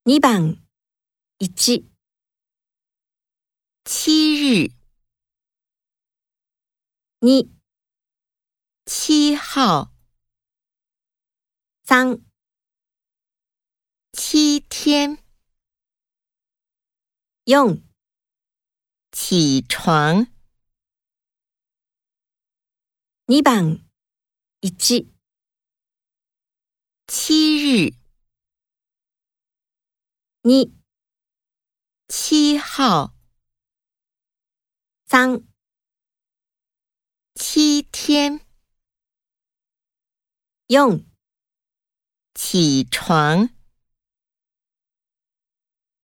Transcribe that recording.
2番1、 7日、 2、 7号、 3、 7天、 4、 起床。 2番1、 7日、 2、 7号、 3、 7天、 4 起床。